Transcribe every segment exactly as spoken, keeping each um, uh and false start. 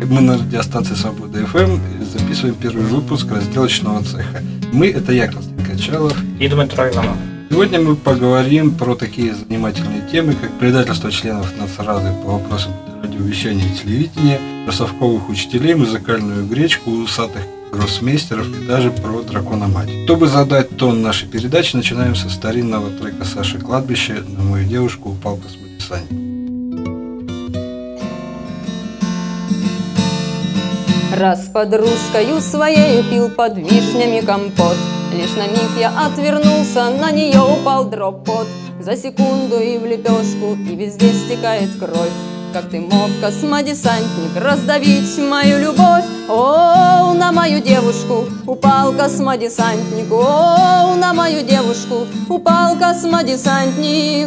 Мы на радиостанции Свобода эф эм записываем первый выпуск разделочного цеха. Мы — это я, Константин Качалов и Дмитро Иванов. Сегодня мы поговорим про такие занимательные темы, как предательство членов Нацрады по вопросам радиовещания и телевидения, про совковых учителей, музыкальную гречку, усатых гроссмейстеров и даже про дракона-мать. Чтобы задать тон нашей передачи, начинаем со старинного трека Саши Кладбища «На мою девушку упал космодесантник». Раз подружкою своей пил под вишнями компот, лишь на миг я отвернулся, на нее упал дроп-пот. За секунду и в лепешку, и везде стекает кровь. Как ты мог, космодесантник, раздавить мою любовь? О, на мою девушку упал космодесантник. О, на мою девушку упал космодесантник.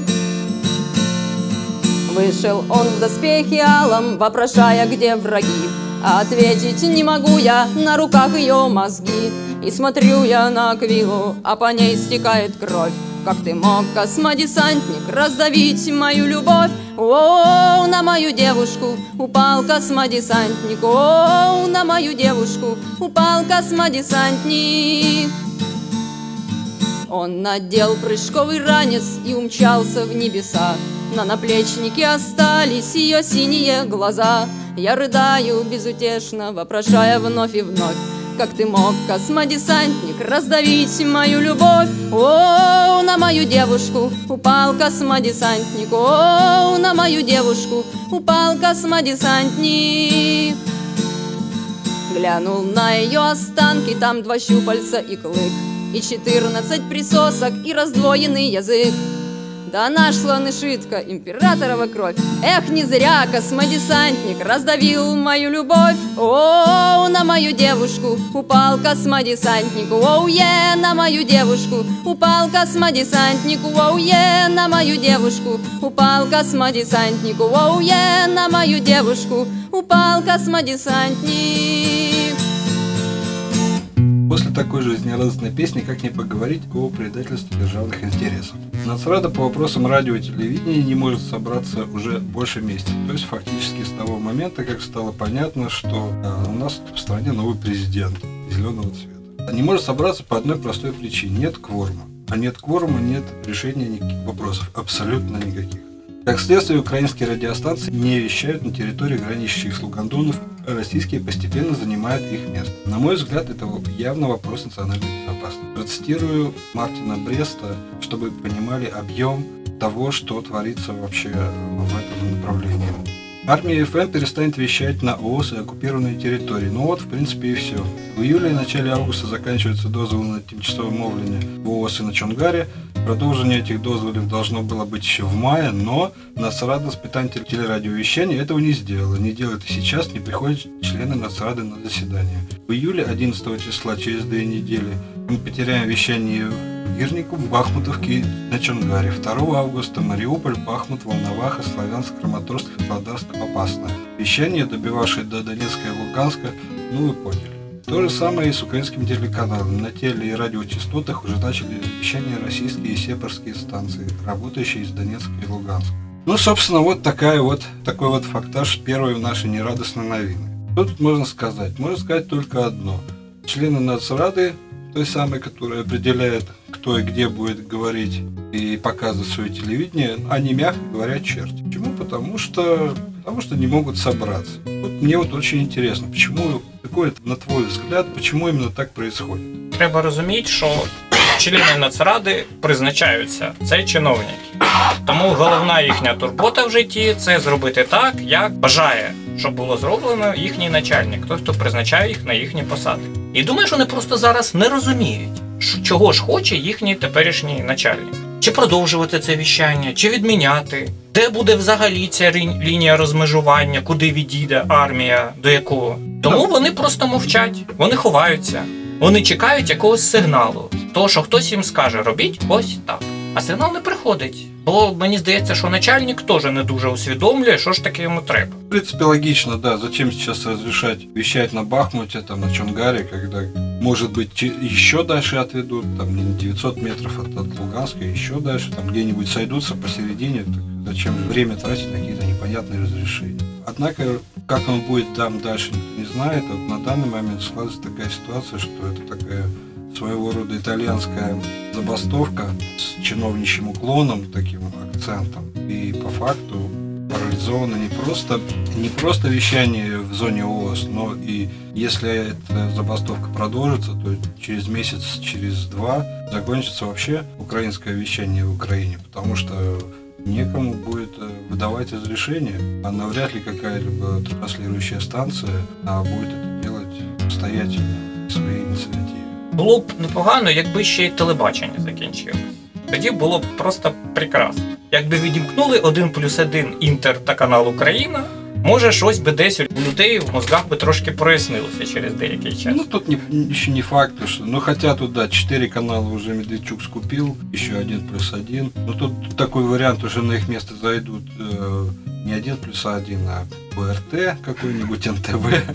Вышел он в доспехе алом, вопрошая, где враги. А ответить не могу я, на руках ее мозги. И смотрю я на аквилу, а по ней стекает кровь. Как ты мог, космодесантник, раздавить мою любовь? О, на мою девушку упал космодесантник. О, на мою девушку упал космодесантник. Он надел прыжковый ранец и умчался в небеса. На наплечнике остались ее синие глаза. Я рыдаю безутешно, вопрошая вновь и вновь. Как ты мог, космодесантник, раздавить мою любовь? О, на мою девушку упал космодесантник. О, на мою девушку упал космодесантник. Глянул на ее останки, там два щупальца и клык, и четырнадцать присосок, и раздвоенный язык. Да наш слонышитка, императорова кровь. Эх, не зря космодесантник раздавил мою любовь. О, на мою девушку упал космодесантник. Оу-е, на мою девушку упал космодесантник. Оу-е, на мою девушку упал космодесантник. Оу-е, на мою девушку упал космодесантник. После такой жизнерадостной песни как не поговорить о предательстве державных интересов. Нацрада по вопросам радио и телевидения не может собраться уже больше месяца. То есть фактически с того момента, как стало понятно, что э, у нас в стране новый президент зеленого цвета. Не может собраться по одной простой причине. Нет кворума. А нет кворума, нет решения никаких вопросов. Абсолютно никаких. Как следствие, украинские радиостанции не вещают на территории, граничащих с Лугандонов, а российские постепенно занимают их место. На мой взгляд, это явно вопрос национальной безопасности. Процитирую Мартина Бреста, чтобы вы понимали объем того, что творится вообще в этом направлении. Армия эф эм перестанет вещать на ООС и оккупированные территории. Ну вот, в принципе, и все. В июле и начале августа заканчиваются дозволы на тимчасовое мовление в ООС и на Чонгаре. Продолжение этих дозволов должно было быть еще в мае, но Нацрада с питанием телерадиовещания этого не сделала. Не делает и сейчас, не приходят члены Нацрады на заседание. В июле одиннадцатого числа, через две недели, мы потеряем вещание в Гирнику, в Бахмутовке, на Чонгаре. второго августа Мариуполь, Бахмут, Волноваха, Славянск, Краматорск, Володарск, Попасная. Вещание, добивавшее до Донецка и Луганска, ну вы поняли. То же самое и с украинскими телеканалами. На теле- и радиочастотах уже начали вещание российские и сепарские станции, работающие из Донецка и Луганска. Ну, собственно, вот такая вот, такой вот фактаж первой нашей нерадостной новины. Что тут можно сказать? Можно сказать только одно. Члены Нацрады, той самой, которая определяет, кто и где будет говорить и показывать свое телевидение, они, мягко говоря, черти. Почему? Потому что, потому что не могут собраться. Вот мне вот очень интересно, почему, какой, на твой взгляд, почему именно так происходит? Треба розуміти, що члени Нацради призначаються, це чиновники. Тому головна їхня турбота в житті – це зробити так, як бажає, щоб було зроблено їхній начальник, той, хто призначає їх на їхні посади. І думаю, що вони просто зараз не розуміють, чого ж хоче їхній теперішній начальник. Чи продовжувати це віщання, чи відміняти, де буде взагалі ця лінія розмежування, куди відійде армія, до якого. Тому вони просто мовчать, вони ховаються, вони чекають якогось сигналу, того, що хтось їм скаже, робіть ось так. А сигнал не приходить, бо мені здається, що начальник теж не дуже усвідомлює, що ж таке йому треба. В принципе, логично, да. Зачем сейчас разрешать вещать на Бахмуте, там, на Чонгаре, когда, может быть, еще дальше отведут, там, не девятьсот метров от, от Луганска, еще дальше, там, где-нибудь сойдутся посередине, так зачем время тратить на какие-то непонятные понятные разрешения. Однако, как он будет там дальше, никто не знает. Вот на данный момент складывается такая ситуация, что это такая своего рода итальянская забастовка с чиновничьим уклоном, таким акцентом. И по факту парализовано не просто, не просто вещание в зоне ООС, но и если эта забастовка продолжится, то через месяц, через два закончится вообще украинское вещание в Украине, потому что некому будет выдавать разрешение, а навряд ли какая-либо транслирующая станция а будет это делать самостоятельно, своей иниціативі. Було б непогано, якби ще й телебачення закінчилось. Тоді було б просто прекрасно. Якби відімкнули один плюс один Інтер та канал Україна, може щось би десь у людей в мозгах би трошки прояснилося через деякий час. Ну тут не, еще не факт, что, ну хотя тут да, четыре канала уже Медведчук скупил, еще один плюс один. Но тут такой вариант, уже на их место зайдут э, не один плюс один, а ОРТ какой-нибудь, эн тэ вэ,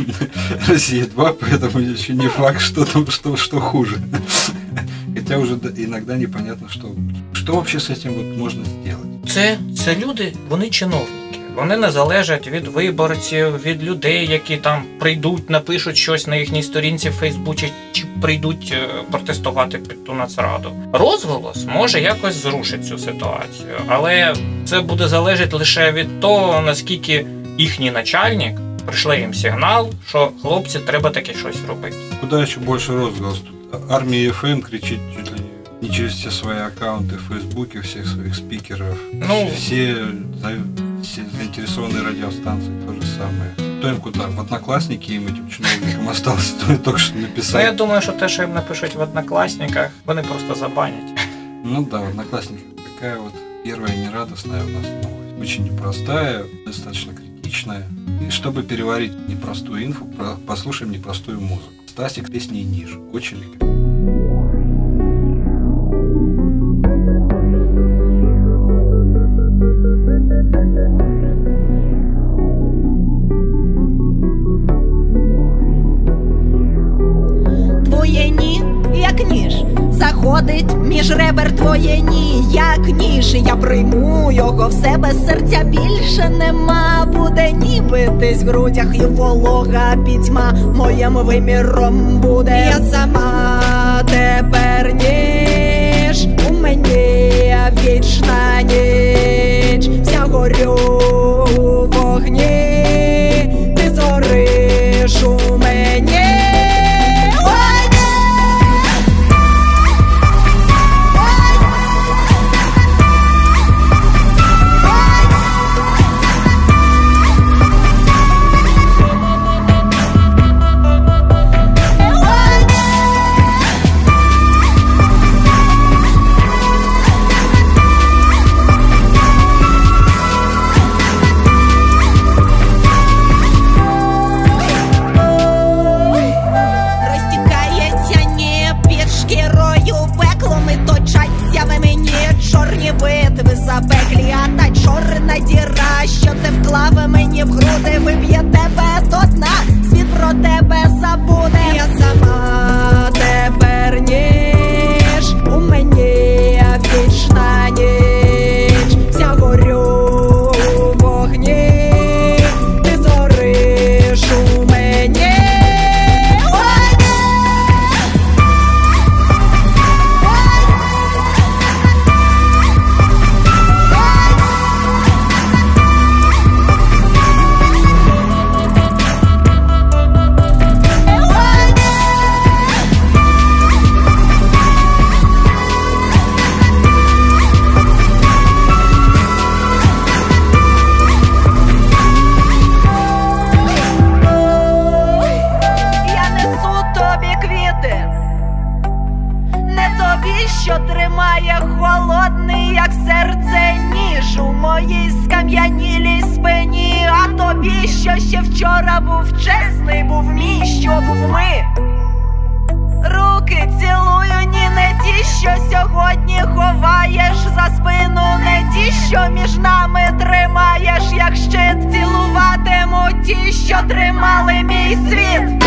Россия два, поэтому еще не факт, что там что, что хуже. Хотя уже иногда непонятно, что, что вообще с этим вот можно сделать. Це, це люди, вони чиновники. Вони не залежать від виборців, від людей, які там прийдуть, напишуть щось на їхній сторінці в Фейсбуці, чи прийдуть протестувати під ту нацраду. Розголос може якось зрушити цю ситуацію, але це буде залежати лише від того, наскільки їхній начальник прийшли їм сигнал, що хлопці, треба таке щось робити. Куда ще більше розголос? Тут армія еф ем кричить чуть ли не через все свои аккаунты в Фейсбуке, всех своих спикеров. Ну, все, все заинтересованные радиостанции то же самое. Кто им куда? В Одноклассники им, этим чиновникам осталось, то только что написать. Ну, я думаю, что те, что им напишут в Одноклассниках, вони просто забанят. Ну да, в Одноклассниках такая вот первая нерадостная у нас новость. Очень непростая, достаточно критичная. И чтобы переварить непростую инфу, послушаем непростую музыку. Стасик с песней «Ниже». Очень рекомендую. Заходить між ребер твоє ні, як ніж. Я прийму його в себе, серця більше нема. Буде ніби десь в грудях і волога пітьма моїм виміром буде. Я сама тепер ніж, у мені вічна ніч. Вся горю у вогні, ти зориш у мені. Запеклі, а та чорна діра, що ти вклав мені в груди, виб'є тебе до дна, світ про тебе забуде. Я сама тепер ніж, у мені вічна ніч. Вся горю у вогні, ти зориш у мені. Що тримає холодний, як серце, ніж у моїй скам'янілій спині. А тобі, що ще вчора був чесний, був мій, що був ми. Руки цілую, ні, не ті, що сьогодні ховаєш за спину, не ті, що між нами тримаєш, як щит. Цілуватиму ті, що тримали мій світ.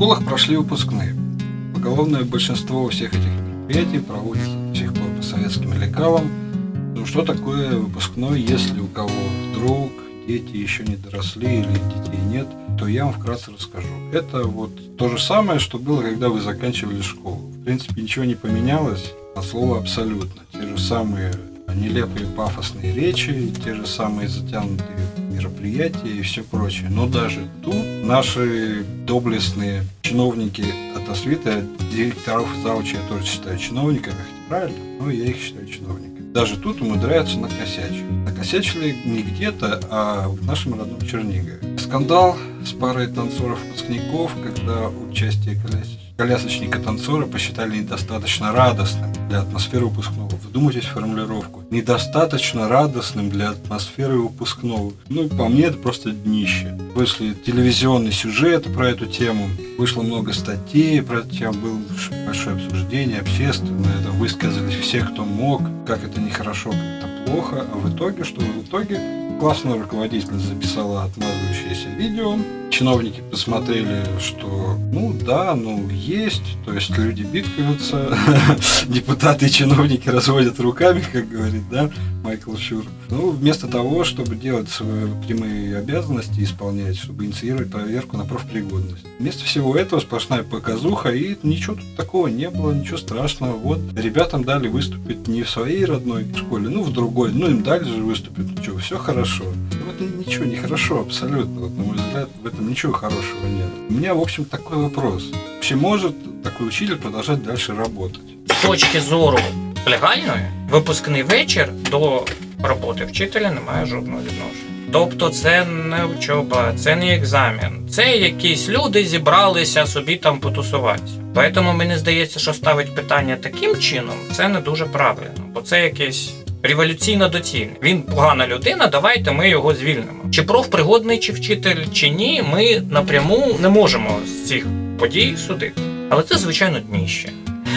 школах прошли выпускные. Поголовное большинство всех этих мероприятий проводится до сих пор по советским лекалам. Ну что такое выпускной, если у кого вдруг дети еще не доросли или детей нет, то я вам вкратце расскажу. Это вот то же самое, что было, когда вы заканчивали школу. В принципе, ничего не поменялось от слова абсолютно. Те же самые нелепые пафосные речи, те же самые затянутые мероприятия и все прочее. Но даже тут наши доблестные чиновники от Освиты, директоров и заучей я тоже считаю чиновниками, хотя правильно, но я их считаю чиновниками. Даже тут умудряются накосячить. Накосячили не где-то, а в нашем родном Чернигове. Скандал с парой танцоров-выпускников, когда участие колясочника-танцора посчитали недостаточно радостным для атмосферы выпускного. Вдумайтесь в формулировку. Недостаточно радостным для атмосферы выпускного. Ну, по мне, это просто днище. Вышли телевизионный сюжет про эту тему, вышло много статей про эту тему, было большое обсуждение общественное, там высказались все, кто мог, как это нехорошо, как это плохо. А в итоге, что в итоге? Классный руководитель записала отмазывающееся видео. Чиновники посмотрели, что ну да, ну есть, то есть люди бикаются, депутаты и чиновники разводят руками, как говорит, да, Майкл Шур. Ну, вместо того, чтобы делать свои прямые обязанности, исполнять, чтобы инициировать проверку на профпригодность. Вместо всего этого сплошная показуха, и ничего тут такого не было, ничего страшного. Вот, ребятам дали выступить не в своей родной школе, ну, в другой, ну, им дали же выступить, ну, что, все хорошо. Вот ничего не хорошо абсолютно, вот, на мой взгляд, в этом ничего хорошего нет. У меня, в общем, такой вопрос. Вообще может такой учитель продолжать дальше работать? З точки зору легальної, випускний вечір до роботи вчителя не має жодного відношення. Тобто це не учоба, це не екзамен, це якісь люди зібралися собі там потусуватися. Тому мені здається, що ставить питання таким чином, це не дуже правильно, бо це якесь революційно доцільне. Він погана людина, давайте ми його звільнимо. Чи профпригодний, чи вчитель, чи ні, ми напряму не можемо з цих подій судити. Але це, звичайно, дніще.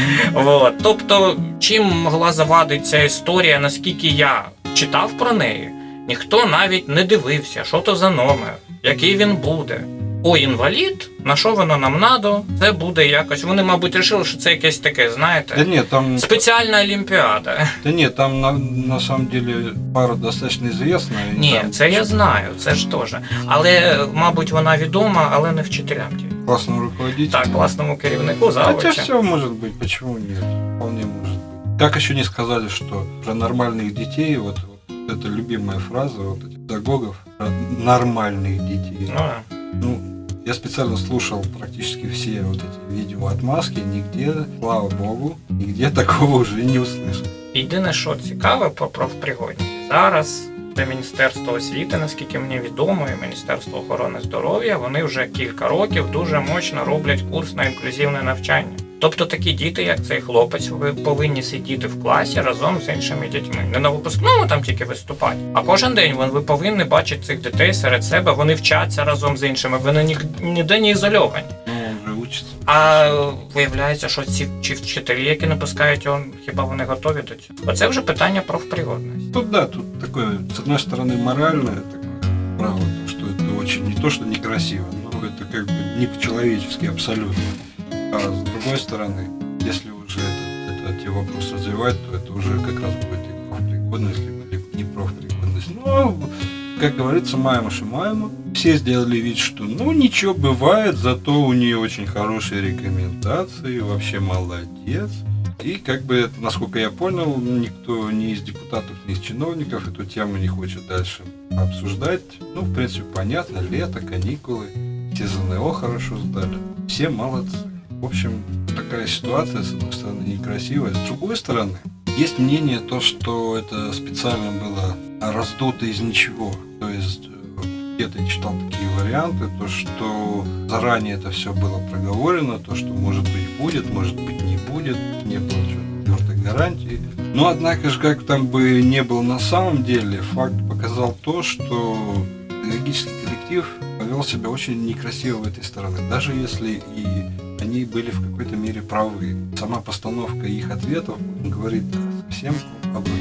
От. Тобто, чим могла завадити ця історія, наскільки я читав про неї, ніхто навіть не дивився, що то за номер, який він буде. О, інвалід, на що воно нам надо, це буде якось. Вони, мабуть, вирішили, що це якесь таке, знаєте, да нет, там... спеціальна олімпіада. Да нет, там на, на самом деле пара достаточно известна. Ні, там... це я знаю, це ж теж. Але, мабуть, вона відома, але не вчителям. Классному руководителю. Так, классному керівнику, завуча. Хотя все может быть, почему нет? Вполне может быть. Как еще не сказали, что про нормальных детей, вот, вот это любимая фраза вот этих педагогов, про нормальных детей. Ну, да. Ну, я специально слушал практически все вот эти видео отмазки, нигде, слава богу, нигде такого уже не услышал. Єдине, що цікаве по профпригодність. Зараз це Міністерство освіти, наскільки мені відомо, і Міністерство охорони здоров'я, вони вже кілька років дуже мощно роблять курс на інклюзивне навчання. Тобто такі діти, як цей хлопець, ви повинні сидіти в класі разом з іншими дітьми. Не на випускному там тільки виступати, а кожен день ви повинні бачити цих дітей серед себе, вони вчаться разом з іншими, вони ніде не ізольовані. Ну, вже учаться. А виявляється, що ці чи вчителі, які не пускають його, хіба вони готові до цього? Оце вже питання профпригодності. Тут да, тут такое, с одной стороны, моральное такое право, то, что это очень не то, что некрасиво, но это как бы не по-человечески абсолютно. А с другой стороны, если уже это, это, эти вопросы развивать, то это уже как раз будет и профпригодность, либо не профпригодность. Но, как говорится, маемуши маема. Все сделали вид, что ну ничего бывает, зато у нее очень хорошие рекомендации, вообще молодец. И как бы, насколько я понял, никто ни из депутатов, ни из чиновников эту тему не хочет дальше обсуждать. Ну, в принципе, понятно, лето, каникулы, все ЗНО хорошо сдали, все молодцы. В общем, такая ситуация, с одной стороны, некрасивая, с другой стороны, есть мнение то, что это специально было раздуто из ничего. То есть где-то я читал такие варианты, то, что заранее это все было проговорено, то, что может быть будет, может быть не будет, не было твердой гарантии. Но, однако же, как там бы не было на самом деле, факт показал то, что педагогический коллектив повел себя очень некрасиво в этой стороне, даже если и они были в какой-то мере правы. Сама постановка их ответов говорит совсем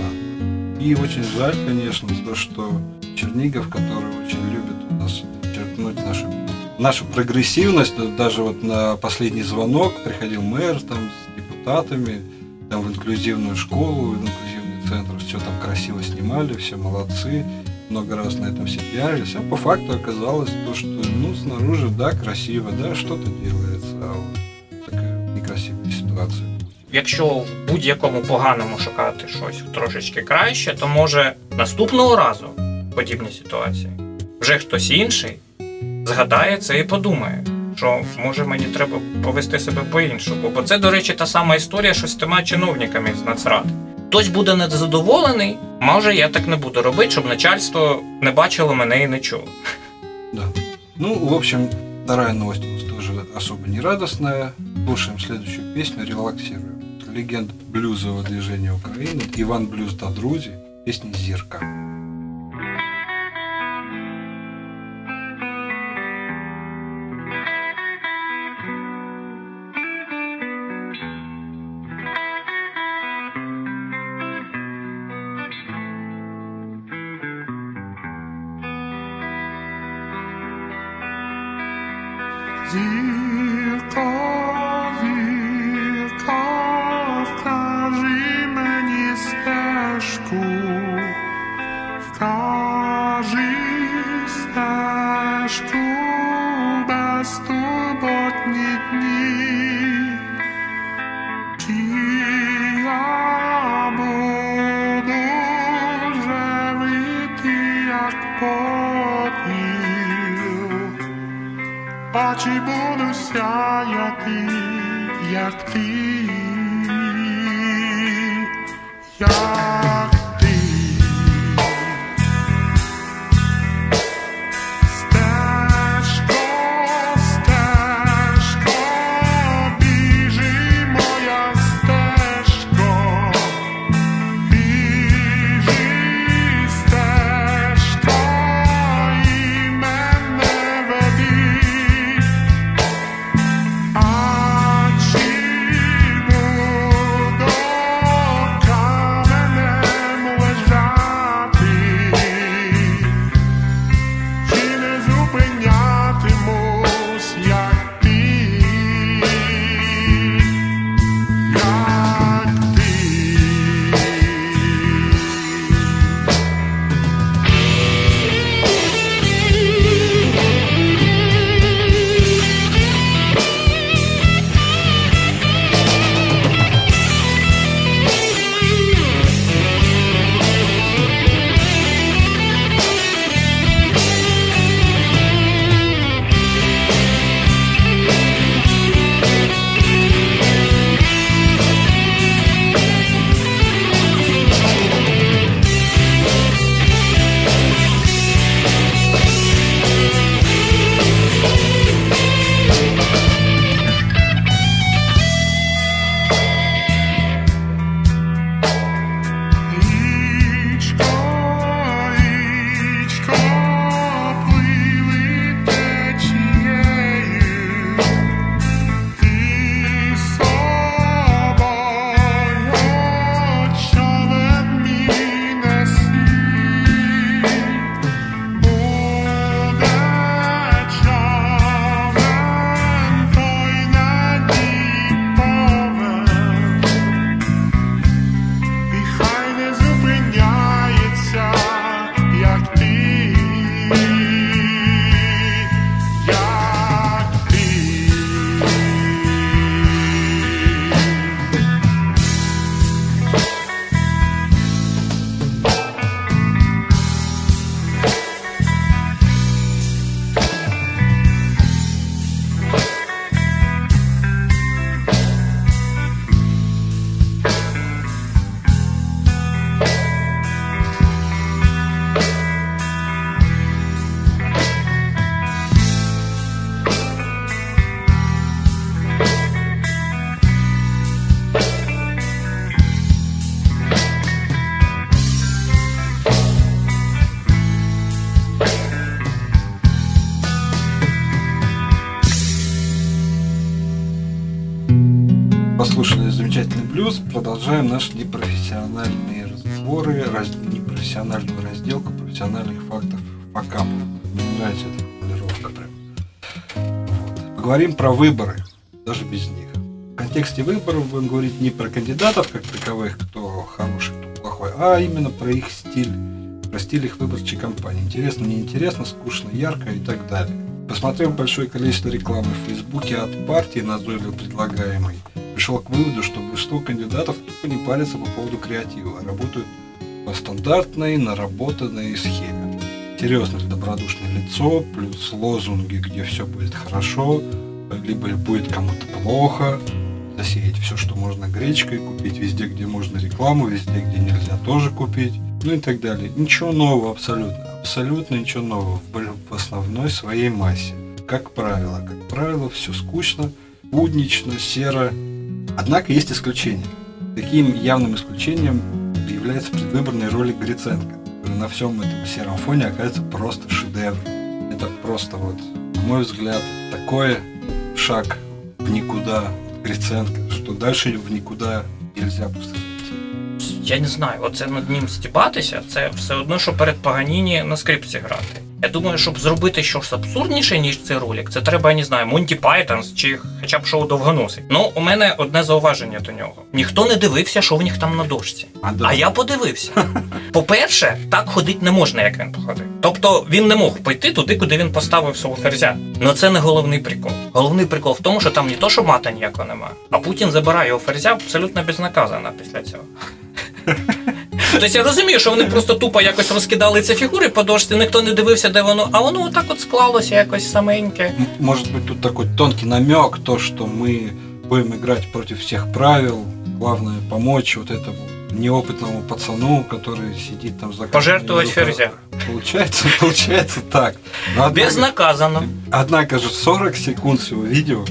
обратно. И очень жаль, конечно, то, что Чернигов, который очень любит у нас подчеркнуть нашу, нашу прогрессивность. Даже вот на последний звонок приходил мэр там, с депутатами, там, в инклюзивную школу, в инклюзивный центр, все там красиво снимали, все молодцы, много раз на этом все пиарились, а по факту оказалось то, что ну, снаружи, да, красиво, да, что-то делается, а вот такая некрасивая ситуация. Якщо в будь-якому поганому шукати щось трошечки краще, то може наступного разу в подібній ситуації вже хтось інший згадає це і подумає, що може мені треба повести себе по-іншому. Бо це, до речі, та сама історія, що з тими чиновниками з Нацради. Хтось буде незадоволений, може я так не буду робити, щоб начальство не бачило мене і не чуло. Да. Ну, в общем, вторая новость у нас тоже особо не радостная. Слушаем следующую песню, релаксируем. Легенда блюзового движения Украины, Иван Блюз та друзі, песня «Зірка». Зірка, зірка, вкажи мені стежку, вкажи стежку безтурботні дні, чи я буду живити, як попіл, а чи буду сяяти, як ти, як ти. Стежко, стежко, біжи моя стежко, біжи стежко і мене веди. А чи буду каменем лежати, чи не зупинятимусь, як ти, як ти. Річко, річко, пливи течією, і собою човен мій неси. Буде човен той на дні повен, і хай не зупиняється, як ти, як ти. Послушали замечательный блюз, продолжаем наши непрофессиональные разговоры, раз, непрофессиональную разделку профессиональных фактов факапов. нравится эта формулировка прям. Вот. Поговорим про выборы, даже без них. В контексте выборов будем говорить не про кандидатов как таковых, кто хороший, кто плохой, а именно про их стиль, про стиль их выборчей кампании. Интересно, неинтересно, скучно, ярко и так далее. Посмотрев большое количество рекламы в Фейсбуке от партии, назойливо предлагаемой, пришел к выводу, что большинство кандидатов тупо не парятся по поводу креатива, а работают по стандартной, наработанной схеме. Серьезное добродушное лицо, плюс лозунги, где все будет хорошо, либо будет кому-то плохо, засеять все, что можно гречкой, купить везде, где можно рекламу, везде, где нельзя, тоже купить, ну и так далее. Ничего нового абсолютно, абсолютно ничего нового в основной своей массе. Как правило, как правило, все скучно, буднично, серо. Однако есть исключения. Таким явным исключением является предвыборная ролик Гриценко, который на всем этом сером фоне оказывается просто шедевр. Это просто вот, на мой взгляд, такой шаг в никуда Гриценко, що далі в нікуди нельзя просто зайти. Я не знаю, оце над ним стібатися, це все одно, що перед Паганіні на скрипці грати. Я думаю, щоб зробити щось абсурдніше, ніж цей ролик, це треба, я не знаю, Монті Пайтонс чи хоча б шоу Довгоносий. Ну, у мене одне зауваження до нього. Ніхто не дивився, що в них там на дошці. А, а я подивився. По-перше, так ходити не можна, як він походив. Тобто, він не мог пойти туди, куди він поставив свого ферзя. Ну це не головний прикол. Головний прикол в тому, що там не то, що мата ніякого немає, а Путін забирає його ферзя абсолютно безнаказано після цього. Тобто я розумію, що вони просто тупо якось розкидали ці фігури по дошці, ніхто не дивився, де воно, а воно отак от склалося якось саменьке. Може бути тут такой тонкий намек, то, что мы будем играть против всех правил, главное помочь вот этому неопытному пацану, который сидит там за... Пожертвовать ферзя. Получается, получается так. Но однако, безнаказанно. Однако же сорок секунд всего видео,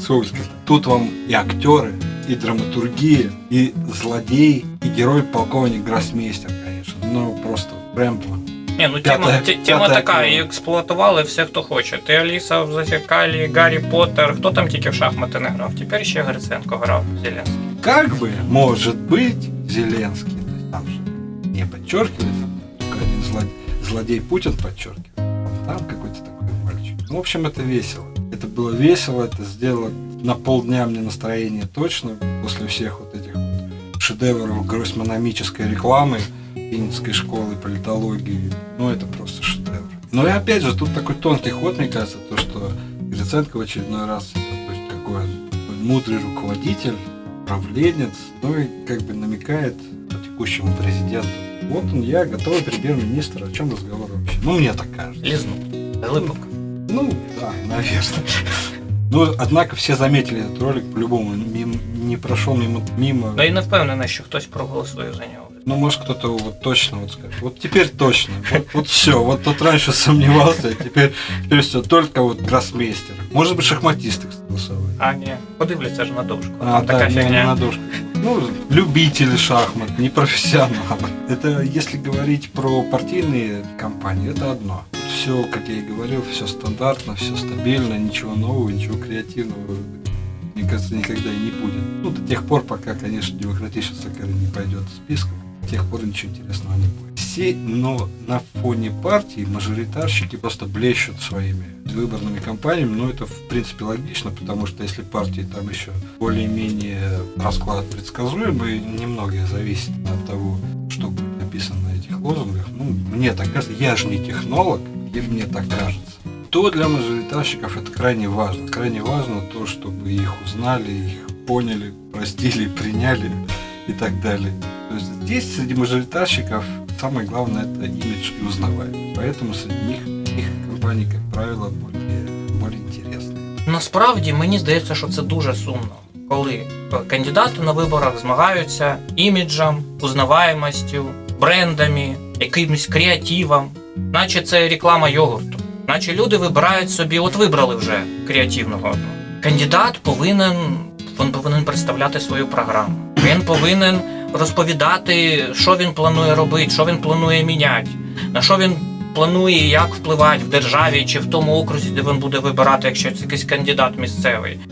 тут вам и актеры, и драматургия, и злодей, и герой полковник Гроссмейстер, конечно. Ну, просто Рэмбо. Не, ну тема, тема така, її експлуатували все, хто хоче. Ти Аліса в Зазеркалі, Гаррі Поттер, хто там тільки в шахмати не грав. Тепер ще Гриценко грав, Зеленський. Как бы, может быть, Зеленский, то есть там же не подчеркивается, только один злодей, злодей Путин подчеркивает, там какой-то такой мальчик. Ну, в общем, это весело. Это было весело, это сделало на полдня мне настроение точно, после всех вот этих вот шедевров гроссмономической рекламы, Винницкой школы политологии. Ну, это просто шедевр. Но и опять же, тут такой тонкий ход, мне кажется, то, что Гриценко в очередной раз, то есть какой он мудрый руководитель, управленец, ну и как бы намекает по текущему президенту. Вот он, я, готовый премьер-министр, о чем разговор вообще? Ну, мне так кажется. Лизнул. Глубоко. Ну, да, наверное. Ну, однако все заметили этот ролик по-любому, мимо, не прошел мимо, мимо. Да и не впевнений, що хтось проголосує за нього. Ну, может, кто-то вот точно вот скажет, вот теперь точно, вот, вот все, вот тот раньше сомневался, а теперь, теперь все, только вот гроссмейстер. Может быть, шахматисты голосовали. А, ні, подивляться ж на дошку. А, така да, не, фігня. не на дошку. Ну, любители шахмат, не профессионалы. Это, если говорить про партийные кампании, это одно. Все, как я и говорил, все стандартно, все стабильно, ничего нового, ничего креативного, мне кажется, никогда и не будет. Ну, до тех пор, пока, конечно, демократическая Сахара не пойдет в список, до тех пор ничего интересного не будет. Все, но на фоне партии мажоритарщики просто блещут своими выборными кампаниями, но это, в принципе, логично, потому что если партии там еще более-менее расклад предсказуемый, немногое зависит от того, что будет написано на этих лозунгах. Ну, мне так кажется, я же не технолог, и мне так кажется. То для мажоритарщиков это крайне важно. Крайне важно то, чтобы их узнали, их поняли, простили, приняли и так далее. То есть здесь среди мажоритарщиков самое главное это имидж и узнаваемость. Поэтому среди них их компании, как правило, более, более интересные. Насправді, мені здається, що це дуже сумно, коли кандидати на виборах змагаються іміджем, узнаваємостю, брендами, якимось креативом, наче це реклама йогурту. Наче люди вибирають собі, от вибрали вже креативного одного. Кандидат повинен, він повинен представляти свою програму. Він повинен розповідати, що він планує робити, що він планує міняти, на що він планує, як впливати в державі чи в тому окрузі, де він буде вибирати, якщо це якийсь кандидат місцевий. У нас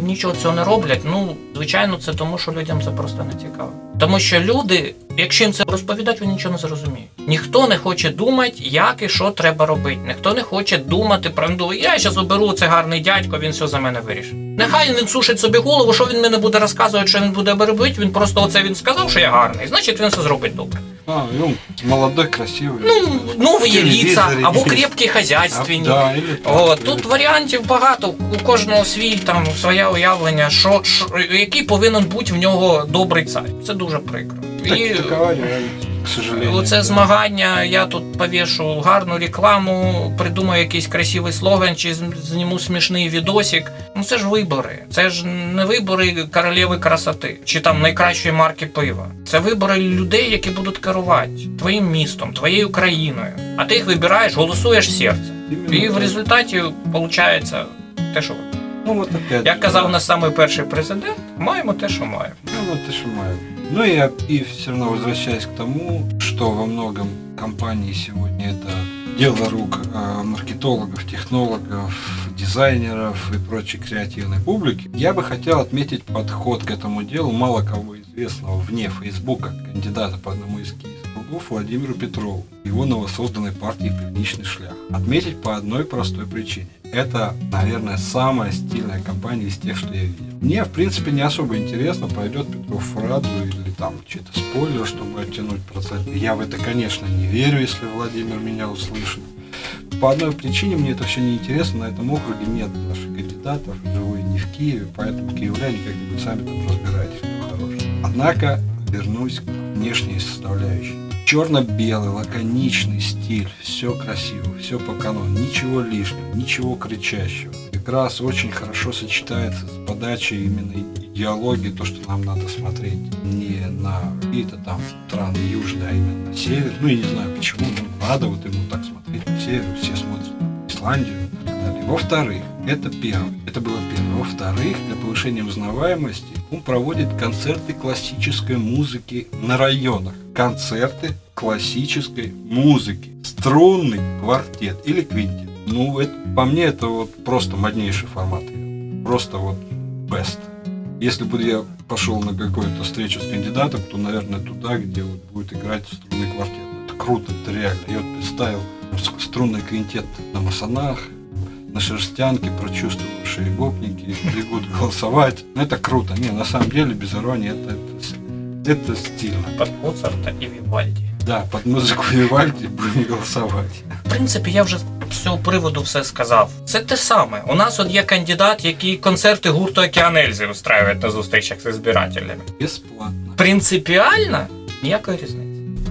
нічого цього не роблять. Ну, звичайно, це тому, що людям це просто не цікаво. Тому що люди, якщо їм це розповідати, вони нічого не зрозуміють. Ніхто не хоче думати, як і що треба робити. Ніхто не хоче думати про, ну, я зараз оберу, це гарний дядько, він все за мене вирішить. Нехай він сушить собі голову, що він мене буде розказувати, що він буде робити, він просто оце він сказав, що я гарний, значить він все зробить добре. А, ну, молодой, красивый. Ну, нові лица, або крепкі хазяйственні. Да, или так, О, или тут так. варіантів багато, у кожного свій там своє уявлення, що, що який повинен бути в нього добрий цар. Це дуже прикро. Так, І такова реальність, к сожалению. оце да. змагання, я тут повішу гарну рекламу, придумаю якийсь красивий слоган, чи зніму смішний відосик. Ну це ж вибори. Це ж не вибори королеви красоти, чи там найкращої марки пива. Це вибори людей, які будуть керувати твоїм містом, твоєю країною. А ти їх вибираєш, голосуєш серцем. Іменно І в так. результаті виходить те, що Ну, вот опять як же, казав да. наш самий перший президент, маємо те, що маємо. Ну, вот и шумаю. Ну и, и все равно возвращаясь к тому, что во многом компании сегодня это дело рук э, маркетологов, технологов, дизайнеров и прочей креативной публики, я бы хотел отметить подход к этому делу мало кого известного вне Фейсбука, кандидата по одному из киевских округов Владимиру Петрову, его новосозданной партии «Пивничный шлях». Отметить по одной простой причине. Это, наверное, самая стильная компания из тех, что я видел. Мне, в принципе, не особо интересно, пойдет Петров в Раду или там чей-то спойлер, чтобы оттянуть процент. Я в это, конечно, не верю, если Владимир меня услышит. По одной причине мне это все не интересно. На этом округе нет наших кандидатов, живу я не в Киеве, поэтому киевляне как-нибудь сами там разбирайтесь, кто хороший. Однако вернусь к внешней составляющей. Черно-белый, лаконичный стиль, все красиво, все по канону, ничего лишнего, ничего кричащего. Как раз очень хорошо сочетается с подачей именно идеологии, то, что нам надо смотреть не на какие-то там страны южные, а именно на север. Ну, я не знаю почему, но надо вот ему так смотреть на север, все смотрят на Исландию и так далее. Во-вторых, это первое, это было первое. Во-вторых, для повышения узнаваемости он проводит концерты классической музыки на районах. Концерты классической музыки. Струнный квартет или квинтет. Ну, это, по мне, это вот просто моднейший формат. Просто вот best. Если бы я пошел на какую-то встречу с кандидатом, то, наверное, туда, где вот будет играть струнный квартет. Это круто, это реально. Я вот представил струнный квинтет на Масонах, на Шерстянке, прочувствовавшие гопники бегут голосовать. Ну, это круто. Не, на самом деле, без иронии, это, это, это стильно. Под Моцарта і Вівальді. Да, под музику Вівальді будемо голосувати. В принципі, я вже з цього приводу все сказав. Це те саме. У нас от є кандидат, який концерти гурту «Океан Ельзи» устраює на зустрічах з збирателями. Бесплатно. Принципіально ніякої різниці.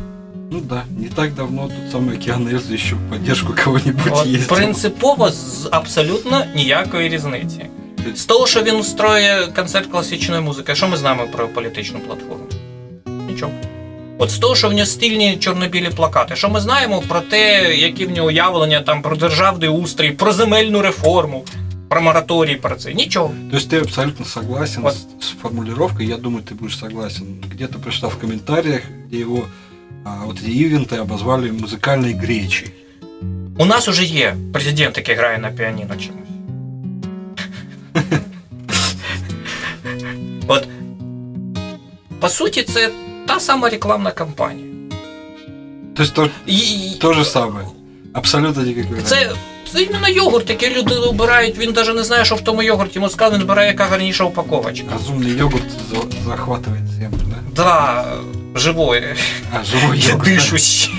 Ну да, не так давно тут самый «Океан Ельзи» еще в поддержку кого-нибудь От, ездил. принципово з абсолютно ніякої різниці. З того, що він устроює концерт класичної музики, що ми знаємо про політичну платформу? Нічого. От з того, що в нього стильні чорно-білі плакати, що ми знаємо про те, які в нього уявлення там про державний устрій, про земельну реформу, про мораторій, про це. Нічого. То есть ты абсолютно согласен Вот. с, с формулировкой, я думаю, ты будешь согласен. Где-то прочитал в комментариях, где его а, вот эти ивенты обозвали музыкальной гречей. У нас уже є президент, який грає на піаніно чомусь. От, по суті, це та сама рекламна кампанія. То есть то, І- то же самое. Абсолютно никакой разницы. Це, це іменно йогурт, який люди обирають, він навіть не знає, що в тому йогурті, йому сказали, він обирає, яка гарніша упаковочка. Разумный йогурт за- захватывает землю, да? Да, живой, А, живой йогурт. да? дышущий.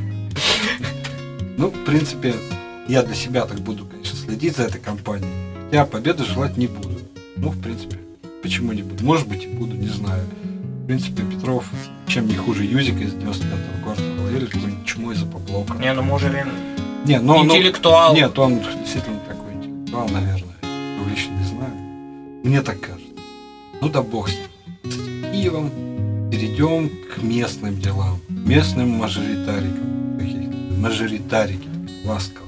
Ну, в принципе, я для себя так буду, конечно, следить за этой компанией. Я победы желать не буду. Ну, в принципе, почему не буду? Может быть, и буду, не знаю. В принципе, Петров чем не хуже Юзика из девяносто пятого квартала или какой-нибудь чумой за поплока. Ні, ну може він Не, но, но- інтелектуал. Нет, он действительно такой интеллектуал, наверное. Я лично не знаю. Мне так кажется. Ну да бог с ним. С этим Киевом перейдем к местным делам. Местным мажоритарикам. Как я их называю? Мажоритарики. Ласково.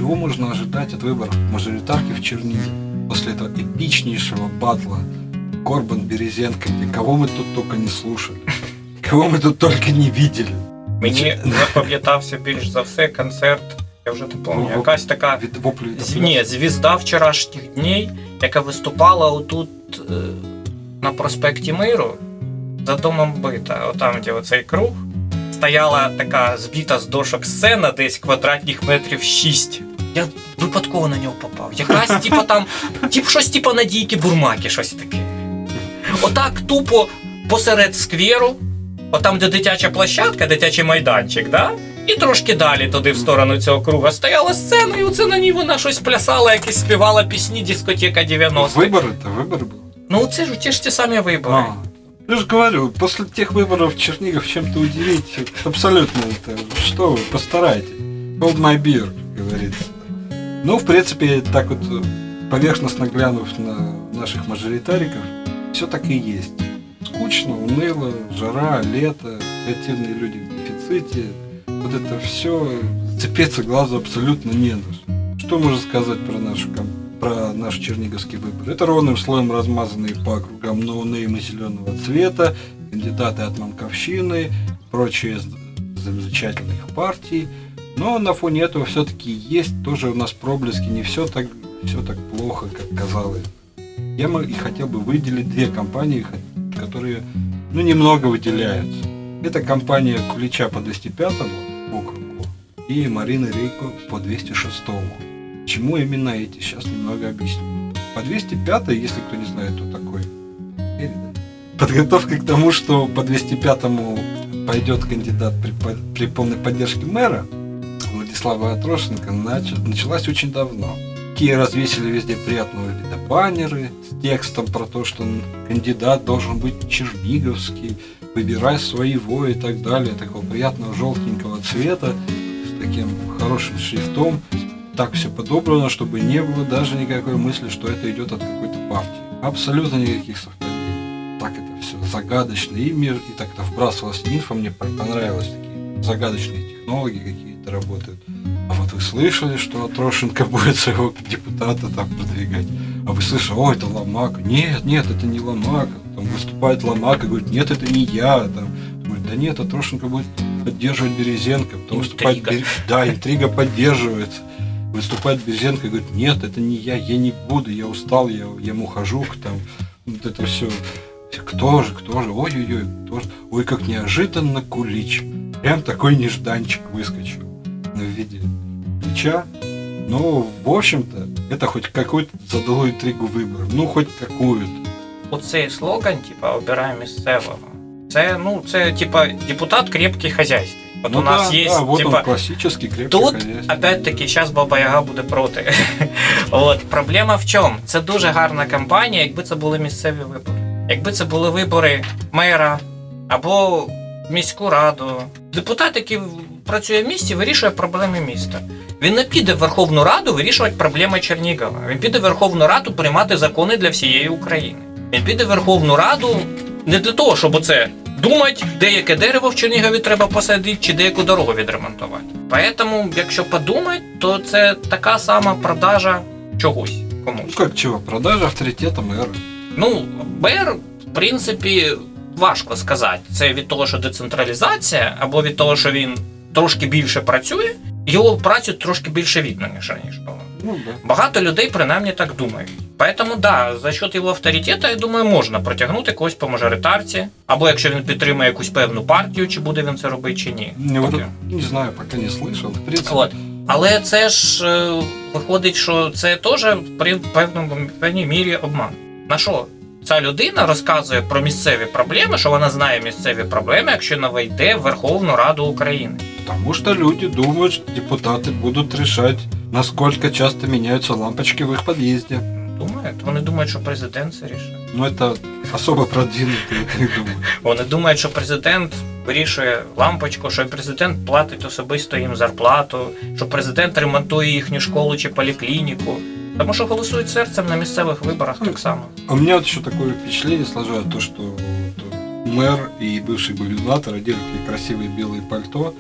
чего можно ожидать от выборов мажоритарки в Чернигове после этого эпичнейшего батла Корбан-Березенко, где кого мы тут только не слушали, кого ми тут тільки не видели. Мені запам'ятався більш за все концерт, я вже не пам'ятаю, якась така від воплю, ні, звізда вчорашніх днів, яка виступала отут е, на проспекті Миру за домом бита, отам, де оцей круг, стояла така збита з дошок сцена, десь квадратних метрів шість. Я випадково на нього попав. Якась, типа там, тип, щось типа Надійки Бурмаки, щось таке. Отак тупо посеред скверу, отам, де дитяча площадка, дитячий майданчик, да? І трошки далі туди в сторону цього круга стояла сцена, і оце на ній вона щось плясала, якісь співала пісні дискотека дев'яностих. Вибори-то, вибори були. Ну, це ж ті ж ті самі вибори. А, я же говорю, после тех выборов Чернигов чем-то удивить, абсолютно это, что вы, постарайтесь. Hold my beer, как говорится. Ну, в принципе, так вот, поверхностно глянув на наших мажоритариков, все так и есть. Скучно, уныло, жара, лето, креативные люди в дефиците. Вот это все, цепиться глазу абсолютно не на что. Что можно сказать про нашу компанию? Про наш черниговский выбор. Это ровным слоем размазанные по округам ноунеймы зеленого цвета, кандидаты от Манковщины, прочие замечательных партий. Но на фоне этого все-таки есть тоже у нас проблески, не все так, все так плохо, как казалось. Я и хотел бы выделить две компании, которые ну, немного выделяются. Это компания Кулича по двести пятому округу и Марины Рейко по двести шестому. Чему именно эти? Сейчас немного объясню. По двести пятому, если кто не знает, кто такой, подготовка к тому, что по двести пятому пойдет кандидат при, при полной поддержке мэра Владислава Атрошенко, началась очень давно. Такие развесили везде приятного вида баннеры с текстом про то, что кандидат должен быть черниговский, выбирай своего и так далее, такого приятного желтенького цвета с таким хорошим шрифтом. Так все подобрано, чтобы не было даже никакой мысли, что это идет от какой-то партии. Абсолютно никаких совпадений. Так это все загадочно и мир, и так это вбрасывалась инфа, мне понравилось, такие загадочные технологии какие-то работают. А вот вы слышали, что Атрошенко будет своего депутата там продвигать? А вы слышали, о, это Ломака. Нет, нет, это не Ломака. Там выступает Ломака, говорит, нет, это не я. Там, говорит, да нет, Атрошенко будет поддерживать Березенко. Потом выступает, да, интрига поддерживается. Выступает Березенко и говорит, нет, это не я, я не буду, я устал, я, я мухожук, там, вот это все. Кто же, кто же, ой-ой-ой, кто же, ой, как неожиданно Кулич. Прям такой нежданчик выскочил в виде Кулича. Но, в общем-то, это хоть какую-то задало интригу выборов, ну, хоть какую-то. Оцей слоган, типа, обираємо місцевого. Це, ну, це, типа, депутат крепкий хозяйственник. Вот ну у нас да, есть, да, вот типа, он классический крепкий тут, хозяйственник. опять-таки, сейчас Баба Яга буде проти. От, проблема в чому? Це дуже гарна кампанія, якби це були місцеві вибори. Якби це були вибори мера або міську раду. Депутат, який працює в місті, вирішує проблеми міста. Він не піде в Верховну Раду вирішувати проблеми Чернігова. Він піде в Верховну Раду приймати закони для всієї України. Він піде в Верховну Раду не для того, щоб оце думати, де яке дерево в Чернігові треба посадити, чи деяку дорогу відремонтувати. Тому, якщо подумати, то це така сама продажа чогось комусь. Ну как чего? Продажа авторитета мэра. Ну, мер, в принципі, важко сказати. Це від того, що децентралізація, або від того, що він трошки більше працює, його працю трошки більше видно, ніж раніше було. Ну, да. Багато людей принаймні так думають. Поэтому, да, за счет його авторитету, я думаю, можна протягнути когось по мажоритарці, або якщо він підтримує якусь певну партію, чи буде він це робити, чи ні. Не, вот, не знаю, пока не слышал. В принципе... От. Але це ж е, виходить, що це теж при певному, певній мірі обман. На що? Ця людина розказує про місцеві проблеми, що вона знає місцеві проблеми, якщо не вийде в Верховну Раду України. Потому что люди думают, что депутаты будут решать, насколько часто меняются лампочки в их подъезде. Думають? Вони думають, що президент це рішує. Ну, это особо продвинутые, я так думаю. Вони думають, що президент вирішує лампочку, що президент платить особисто їм зарплату, що президент ремонтує їхню школу чи поліклініку. Тому що голосують серцем на місцевих виборах так само. А у меня вот еще такое впечатление сложилось, то, что мэр и бывший губернатор одели такие красивые белые пальто,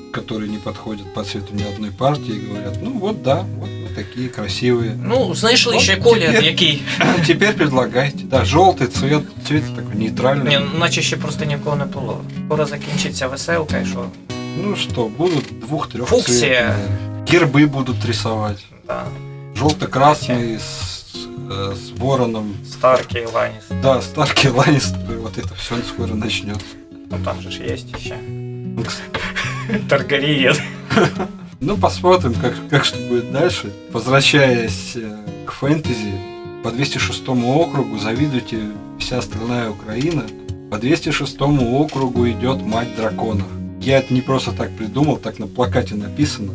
которые не подходят по цвету ни одной партии, и говорят, ну вот да, вот мы такие красивые. Ну, знайшли Вот ще колір, теперь- який, Теперь предлагайте. Да, желтый цвет, цвет такой нейтральный. ні, наче ще просто нікого не було. Скоро закінчиться веселка, і що? Ну что, будут двух-трех Фуксия. цветов. Гербы будут рисовать. Да. Желто-красный с, э, с вороном. Старкі, Ланіс. Да, Старки, Ланнистеры, вот это все скоро начнется. Ну там же ж є ще. Таргарієн. Ну, посмотрим, как, как что будет дальше. Возвращаясь э, к фэнтези, по двести шестому округу завидуйте вся остальная Украина. По двести шестому округу идет мать драконов. Я это не просто так придумал, так на плакате написано.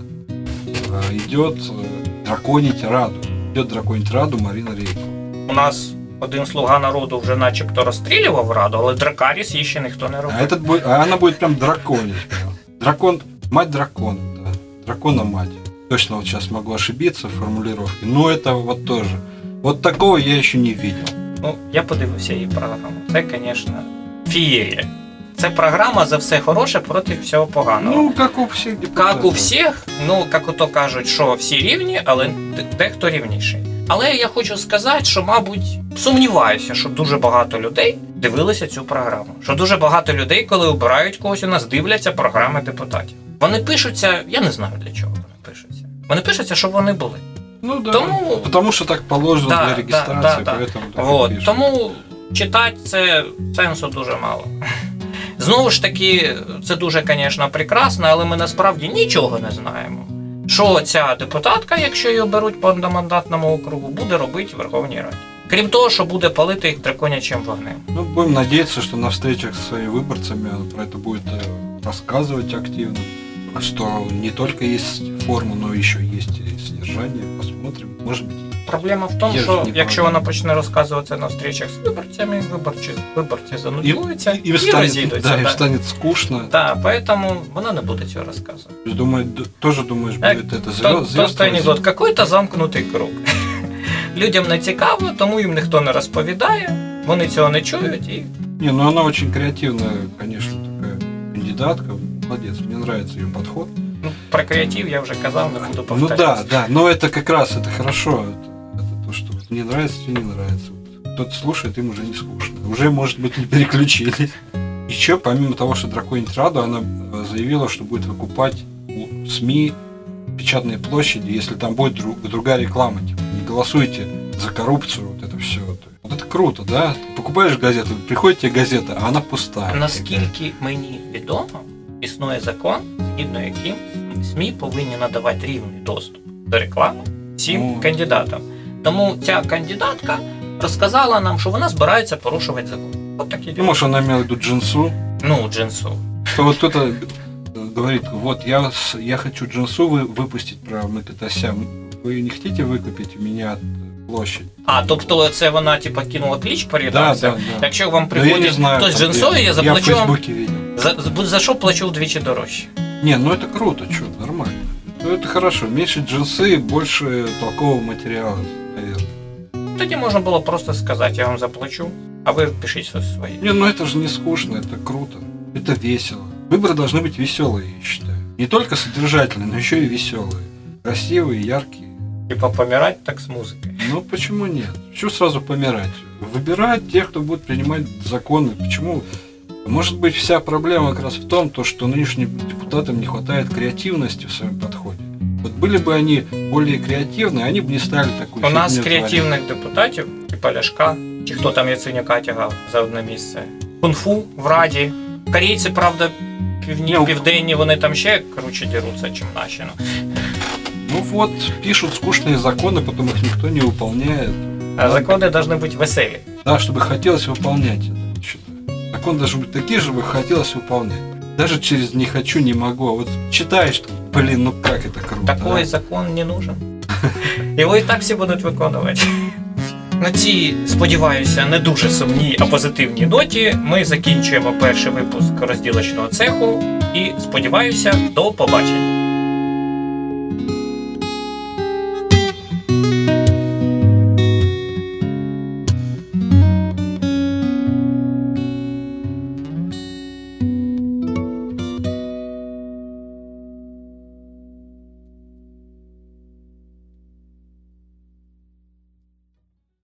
Э, Идет э, драконить Раду. Идет драконить Раду Марина Рейко. У нас один слуга народу вже начебто розстрілював Раду, але Дракаріс її ще ніхто не А, робив. этот будет, а она будет прям драконить. прям. Дракон, мать дракона, да. Дракона мать. Точно вот сейчас могу ошибиться в формулировке. Но это вот тоже. Вот такого я еще не видел. Ну, я подивився її програму. Це, звісно, фієрія. Це програма за все хороше проти всього поганого. Ну, как у всех депутатов. Як у всіх, ну, як ото кажуть, що всі рівні, але де- дехто рівніший. Але я хочу сказати, що, мабуть, сумніваюся, що дуже багато людей дивилися цю програму. Що дуже багато людей, коли обирають когось, у нас дивляться програми депутатів. Вони пишуться, я не знаю для чого вони пишуться. Вони пишуться, щоб вони були. Ну да. Тому- Потому что так положено Да, для да, регистрации, да, да. поэтому так и Вот. пишут. Тому читати це сенсу дуже мало. Знову ж таки, це дуже, звісно, прекрасно, але ми насправді нічого не знаємо. Що ця депутатка, якщо її оберуть по одномандатному округу, буде робити в Верховній Раді. Крім того, що буде палити їх драконячим вогнем. Ну, будем надеяться, что на встречах с своими выборцами он про это будет э, рассказывать активно. Что не только есть форма, но еще есть и содержание. Посмотрим. Может быть. Проблема в тому, Я ж що не якщо пам'ятаю. вона почне розказувати це на зустрічах з виборцями, виборці, виборці занудьуються і, им станет, розійдуться. да, им Да. станет скучно. Так, поэтому вона не буде цього розказувати. То есть, думаю, д- тоже думаешь, Так, будет это То- звезд, Просто анекдот, какой-то замкнутий круг. Людям не цікаво, тому їм ніхто не розповідає, вони цього не чують і Не, ну она очень креативная, конечно, такая кандидатка. Молодец, мне нравится ее подход. ну, про креатив я вже казав, не буду Ну повторюватися. да, да, но это как раз, это хорошо. Это, это то, что вот мне нравится, тебе не нравится. Вот кто-то слушает, им уже не скучно. Уже, может быть, не переключились. Еще, помимо того, что драконить Раду, она э, заявила, что будет выкупать у СМИ печатные площади, если там будет друг- другая реклама. Типа, не голосуйте за коррупцию, вот это все. Вот это круто, да? Покупаешь газету, приходит тебе газета, а она пустая. Наскільки мені відомо, існує закон, згідно яким СМІ повинні надавати рівний доступ до реклами всім Ну. кандидатам. Тому ця кандидатка розказала нам, що вона збирається порушувати закон. От такі Ну, діла. может, она имела в виду джинсу. Ну, джинсу. Что вот кто-то э, говорит, вот я, с- я хочу джинсу вы, выпустить про Микитася. Вы не хотите выкупить у меня площадь? А, тобто це вона типа кинула клич по Да, редакціям? да, да. Якщо вам Ну, я не приходить знаю, хтось там джинсою, где. я Я в заплачу вам. Фейсбуке видел. За, за, за що плачу вдвічі дорожче? Не, ну это круто, что, нормально. Ну это хорошо. Меньше джинсы, больше толкового материала, наверное. Тоді можна було просто сказати, я вам заплачу, а ви пишіть щось своє. Не, ну это же не скучно, это круто. Это весело. Выборы должны быть веселые, я считаю. Не только содержательные, но еще и веселые. Красивые, яркие. Типа помирати так з музикою. Ну почему нет? Почему сразу помирать? Выбирать тех, кто будет принимать законы. Почему? Может быть, вся проблема как раз в том, то, что нынешним депутатам не хватает креативности в своем подходе. Вот были бы они более креативны, они бы не стали такой У нас фигней креативних депутатів, типа Ляшка, чи хто там Яценюка тягав за одне місце. Кунг-фу в Раді. Корейці, правда, півні, Ні, південні, вони там ще круче діруться, чим наші. Ну. Ну вот, пишут скучные законы, потом их никто не выполняет. А закони повинні бути веселі. Да, чтобы хотелось выполнять это, вот считаю. Законы должны быть такие, чтобы хотелось выполнять. Даже через «не хочу, не могу». А вот читаешь, что, блин, ну как это круто. Такой а? закон не нужен. Його і так всі будуть виконувати. На цій, сподіваюся, не дуже сумній, а позитивній ноті ми закінчуємо перший випуск розділочного цеху і, сподіваюся, до побачення.